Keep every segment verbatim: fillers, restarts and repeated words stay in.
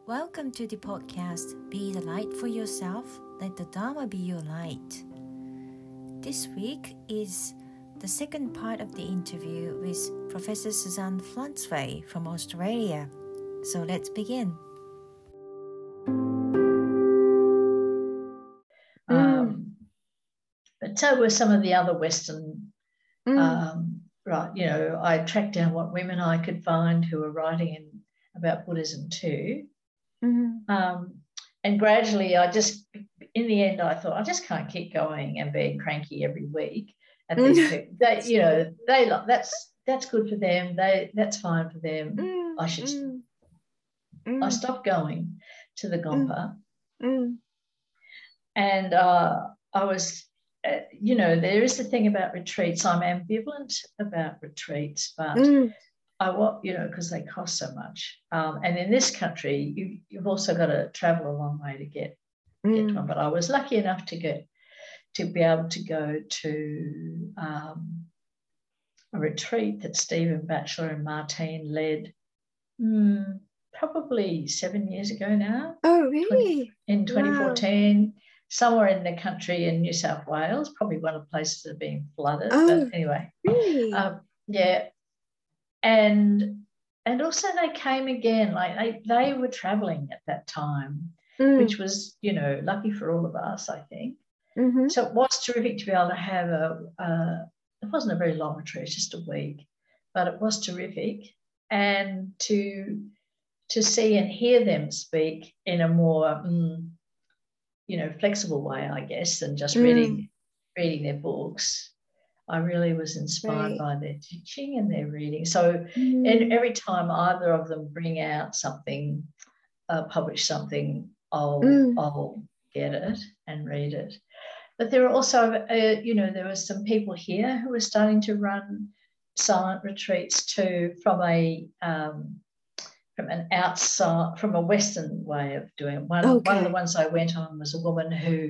Welcome to the podcast, Be the Light for Yourself, Let the Dharma Be Your Light. This week is the second part of the interview with Professor Suzanne Flansway from Australia. So let's begin. Um, but so were some of the other Western, mm. um, right, you know, I tracked down what women I could find who were writing in, about Buddhism too. Mm-hmm. Um, and gradually I just, in the end, I thought, I just can't keep going and being cranky every week at these people. They, you know, they that's that's good for them. They That's fine for them. Mm. I should, mm. I stopped going to the Gompa. Mm. And uh, I was, uh, you know, there is the thing about retreats. I'm ambivalent about retreats, but mm. I want, you know, because they cost so much. Um, and in this country, you, you've also got to travel a long way to get, mm. get to one. But I was lucky enough to get, to be able to go to um, a retreat that Stephen Batchelor and Martine led mm, probably seven years ago now. Oh, really? twenty, in twenty fourteen. Wow. Somewhere in the country in New South Wales, probably one of the places that have been flooded. Oh, but anyway, really? Um, yeah. And and also they came again, like they, they were travelling at that time, mm. which was, you know, lucky for all of us, I think. Mm-hmm. So it was terrific to be able to have a, a, it wasn't a very long retreat, just a week, but it was terrific. And to, to see and hear them speak in a more, mm, you know, flexible way, I guess, than just mm. reading reading their books. I really was inspired right. by their teaching and their reading. So mm. and every time either of them bring out something, uh, publish something, I'll, mm. I'll get it and read it. But there are also, uh, you know, there were some people here who were starting to run silent retreats too from a um, from an outside, from a Western way of doing it. One, okay. one of the ones I went on was a woman who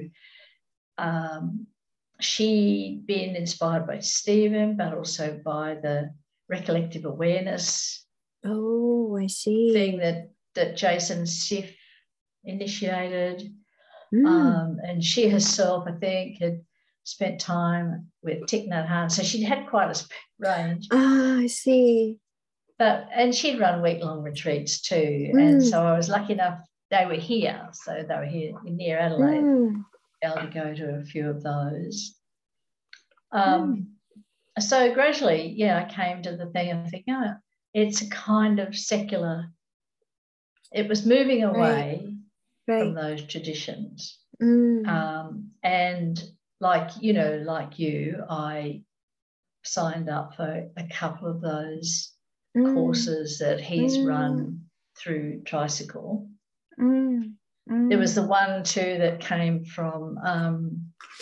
um, she'd been inspired by Stephen, but also by the recollective awareness. Oh, I see. Thing that, that Jason Siff initiated. Mm. Um, and she herself, I think, had spent time with Thich Nhat Hanh. So she'd had quite a range. Ah, I see. But and she'd run week-long retreats too. Mm. And so I was lucky enough, they were here. So they were here near Adelaide. Mm. Able to go to a few of those. Um, mm. So gradually, yeah, I came to the thing and thinking, oh, it's a kind of secular, it was moving away right. Right. from those traditions. Mm. Um, and like, you know, like you, I signed up for a couple of those mm. courses that he's mm. run through Tricycle. Mm. Mm. There was the one too that came from um,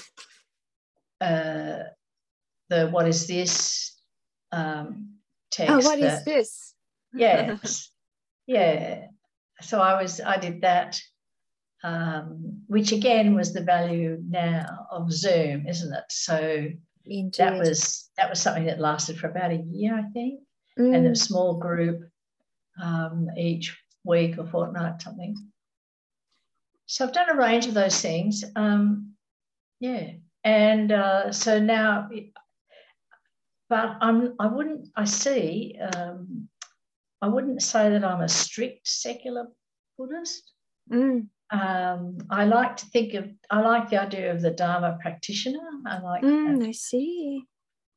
uh, the What Is This um, text. Oh, what that, is this? Yes, yeah. So I was, I did that, um, which again was the value now of Zoom, isn't it? So Indeed. that was that was something that lasted for about a year, I think, mm. and a small group um, each week or fortnight, something. So I've done a range of those things, um, yeah. And uh, so now, but I'm, I wouldn't, I see, um, I wouldn't say that I'm a strict secular Buddhist. Mm. Um, I like to think of, I like the idea of the Dharma practitioner. I like mm, that. I see.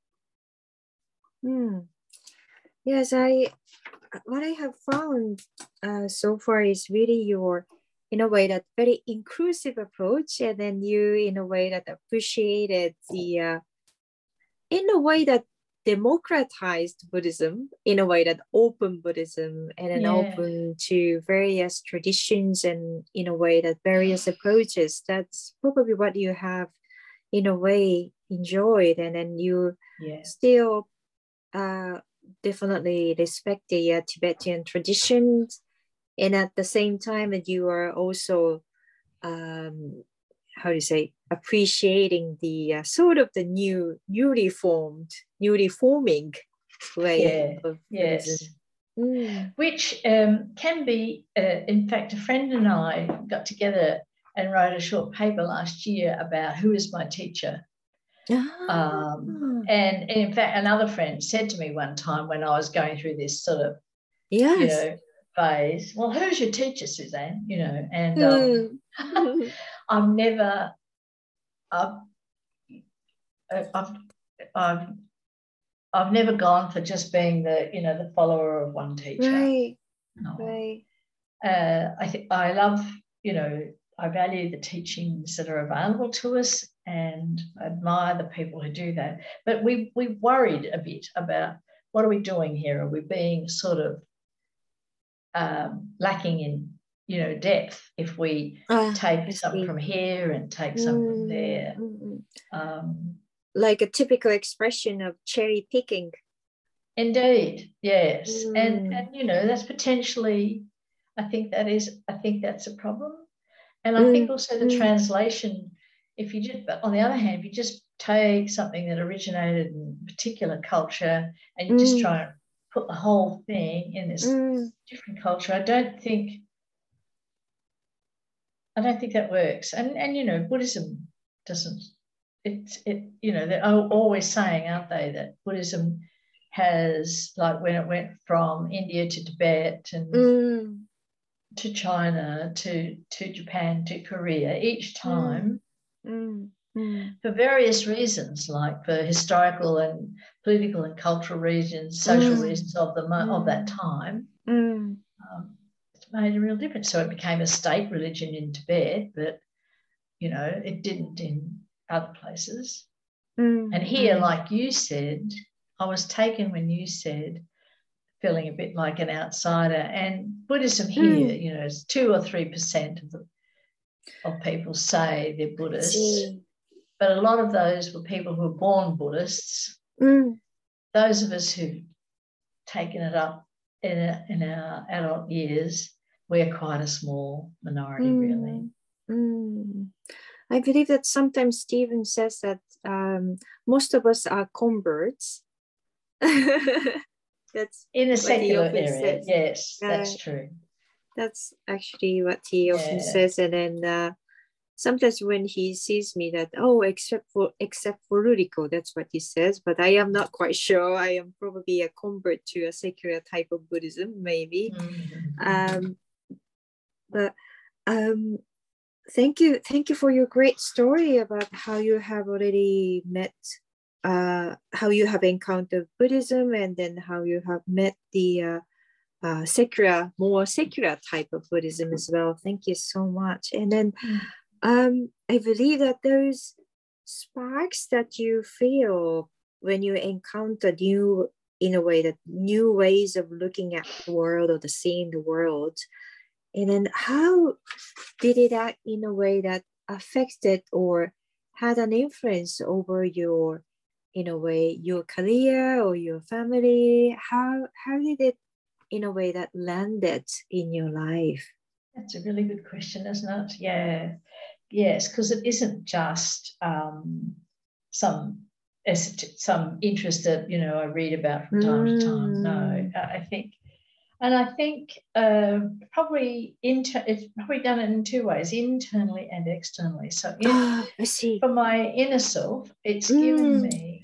Mm. Yes, I, what I have found uh, so far is really your, in a way, that very inclusive approach, and then you in a way that appreciated the uh, in a way that democratized Buddhism, in a way that open Buddhism, and then yeah. open to various traditions, and in a way that various approaches. That's probably what you have in a way enjoyed, and then you yeah. still uh, definitely respect the uh, Tibetan traditions. And at the same time, that you are also, um, how do you say, appreciating the uh, sort of the new, newly formed, newly forming way yeah, of yes. Buddhism. Mm. which um, can be, uh, in fact, a friend and I got together and wrote a short paper last year about who is my teacher. Ah. Um, and, and in fact, another friend said to me one time when I was going through this sort of, yes. you know, phase, well, who's your teacher, Suzanne? You know, and Mm. um, I've never, I've, I've, I've, I've never gone for just being the, you know, the follower of one teacher. Right. No. Right. Uh, I think I love, you know, I value the teachings that are available to us and admire the people who do that. But we we worried a bit about what are we doing here? Are we being sort of um, lacking in, you know, depth if we Ah, take I something see. from here and take some from Mm, there? mm, mm. Um, Like a typical expression of cherry picking. Indeed, yes. Mm. And and you know, that's potentially, I think that is, I think that's a problem. And I Mm, think also the mm. translation, if you just, but on the other hand, if you just take something that originated in a particular culture and you Mm. just try and put the whole thing in this Mm. different culture, I don't think, I don't think that works. And and you know, Buddhism doesn't, it's it, you know, they're always saying, aren't they, that Buddhism has, like when it went from India to Tibet and Mm. to China, to, to Japan, to Korea, each time, Mm. Mm. for various reasons, like for historical and political and cultural reasons, social Mm. reasons of the Mm. of that time, Mm. um, it's made a real difference. So it became a state religion in Tibet, but, you know, it didn't in other places. Mm. And here, Mm. like you said, I was taken when you said, feeling a bit like an outsider. And Buddhism here, Mm. you know, is two or three percent of the of people say they're Buddhists, but a lot of those were people who were born Buddhists. Mm. Those of us who've taken it up in, a, in our adult years, we're quite a small minority, Mm. really. Mm. I believe that sometimes Stephen says that um, most of us are converts. That's in a what secular he often area, says. yes, Uh, that's true. That's actually what he Yeah. often says. And then uh, sometimes when he sees me that, oh, except for except for Ruriko, that's what he says. But I am not quite sure. I am probably a convert to a secular type of Buddhism, maybe. Mm-hmm. Um, but um, thank you, thank you for your great story about how you have already met, uh, how you have encountered Buddhism, and then how you have met the uh, uh, secular, more secular type of Buddhism as well. Thank you so much. And then um, I believe that those sparks that you feel when you encounter new, in a way, that new ways of looking at the world or the seeing the world, and then how did it act in a way that affected or had an influence over your, in a way, your career or your family? How how did it, in a way, that landed in your life? That's a really good question, isn't it? Yeah, yes, because it isn't just um, some some interest that, you know, I read about from time mm. to time. No, I think, and I think uh, probably inter- it's probably done it in two ways, internally and externally. So, in, oh, I see. For my inner self, it's mm. given me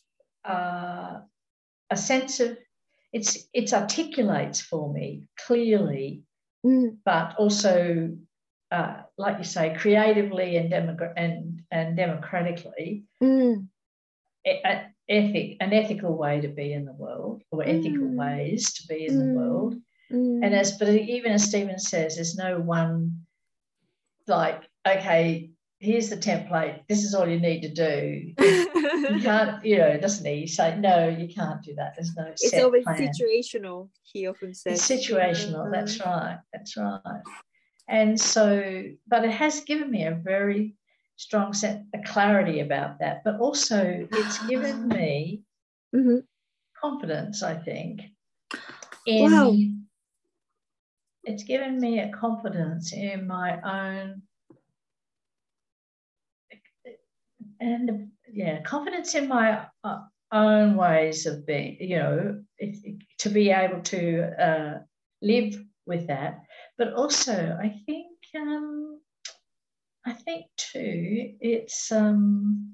uh, a sense of, it's it articulates for me clearly, mm. but also, uh, like you say, creatively and demogra- and and democratically, mm. a, ethic an ethical way to be in the world, or ethical mm. ways to be in mm. the world. Mm. And as but even as Stephen says, there's no one, like, okay, here's the template, this is all you need to do. You can't, you know, doesn't he? You say, no, you can't do that. There's no it's set always plan. Situational, he often says. It's situational, yeah. that's right, that's right. And so, but it has given me a very strong sense of clarity about that, but also it's given me mm-hmm. confidence, I think, in, wow. it's given me a confidence in my own, and yeah, confidence in my uh, own ways of being, you know, it, it, to be able to uh, live with that. But also, I think, um, I think too, it's um,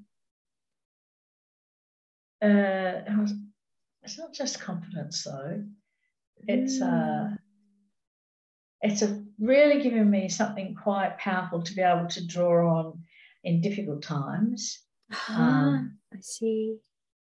uh, it's not just confidence though. It's uh, it's a really given me something quite powerful to be able to draw on in difficult times. Ah, Um, I see.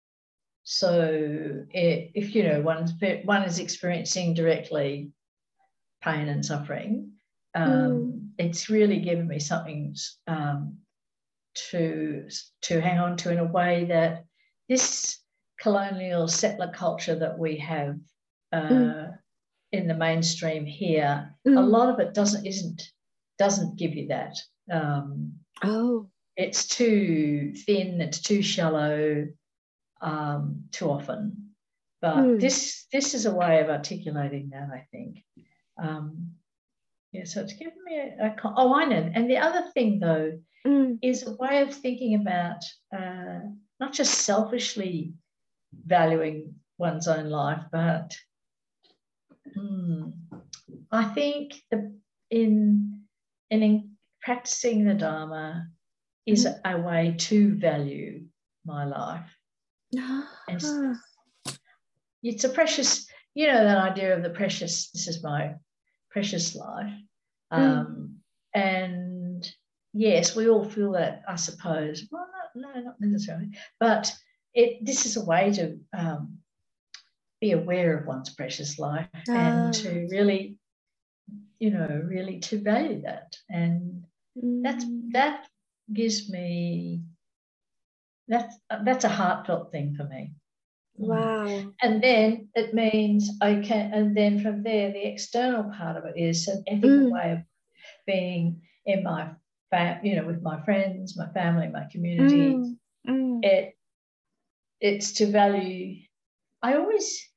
So it, if, you know, one's, one is experiencing directly pain and suffering, um, mm. it's really given me something um, to, to hang on to in a way that this colonial settler culture that we have uh, mm. in the mainstream here, mm. a lot of it doesn't, isn't, doesn't give you that. Um, oh. It's too thin, it's too shallow, Um, too often, but mm. this this is a way of articulating that, I think. Um, yeah, so it's given me a, a oh, I know. And the other thing though mm. is a way of thinking about uh, not just selfishly valuing one's own life, but mm, I think the, in in, in practicing the Dharma is mm. a way to value my life. And it's a precious, you know, that idea of the precious, this is my precious life. Um, mm. And yes, we all feel that, I suppose. Well, no, no, not necessarily. But it, this is a way to um, be aware of one's precious life ah. and to really, you know, really to value that. And mm. that's, that gives me, That's that's a heartfelt thing for me. Wow. And then it means, okay, and then from there, the external part of it is an ethical mm. way of being in my, fam- you know, with my friends, my family, my community. Mm. Mm. It It's to value, I always,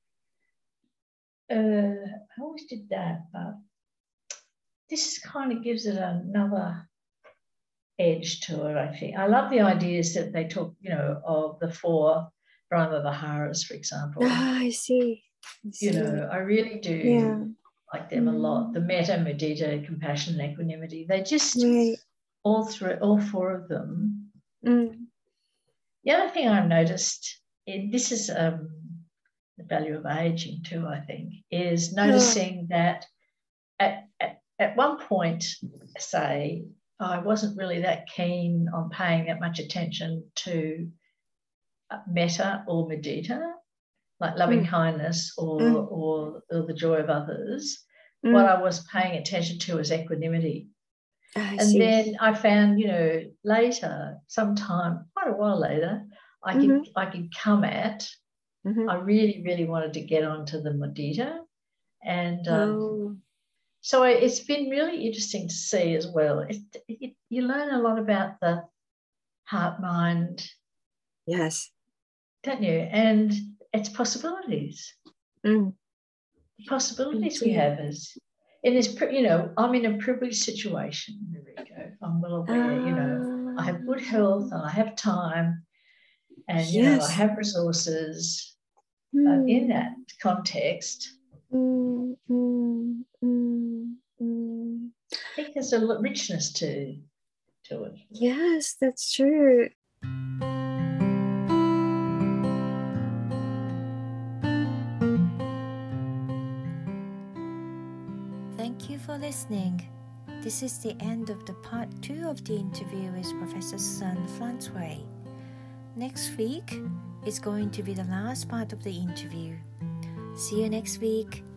uh, I always did that, but this kind of gives it another edge to it, I think. I love the ideas that they talk, you know, of the four Brahma Viharas, for example. Ah, I see. I see. You know, I really do yeah. like them mm. a lot. The metta, mudita, compassion, and equanimity. They just, right. all three, all four of them. Mm. The other thing I've noticed, in, this is um, the value of aging too, I think, is noticing oh. that at, at, at one point, say, I wasn't really that keen on paying that much attention to metta or mudita, like loving mm. kindness or, mm. or or the joy of others. Mm. What I was paying attention to was equanimity. I and see. Then I found, you know, later, sometime, quite a while later, I mm-hmm. could I could come at, mm-hmm. I really, really wanted to get onto the mudita. And um, oh. so it's been really interesting to see as well. It, it, you learn a lot about the heart, mind. Yes. Don't you? And its possibilities. Mm. The possibilities we have is, in this, you know, I'm in a privileged situation, Rico. I'm well aware, uh, you know, I have good health and I have time and, you yes. know, I have resources. Mm. But in that context, mm, mm, mm, mm. I think there's a richness to, to it. Yes, that's true. Thank you for listening. This is the end of the part two of the interview with Professor Suzanne Francois. Next week is going to be the last part of the interview. See you next week.